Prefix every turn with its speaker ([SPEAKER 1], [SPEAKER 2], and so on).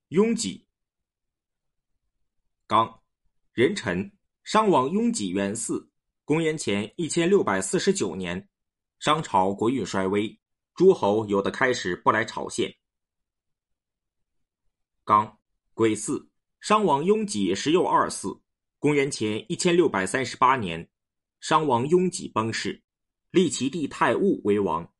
[SPEAKER 1] 雍己。刚，壬辰，商王雍己元嗣，公元前1649年，商朝国运衰微，诸侯有的开始不来朝献。刚，癸巳，商王雍己时又二嗣，公元前1638年，商王雍己崩逝，立其弟太戊为王。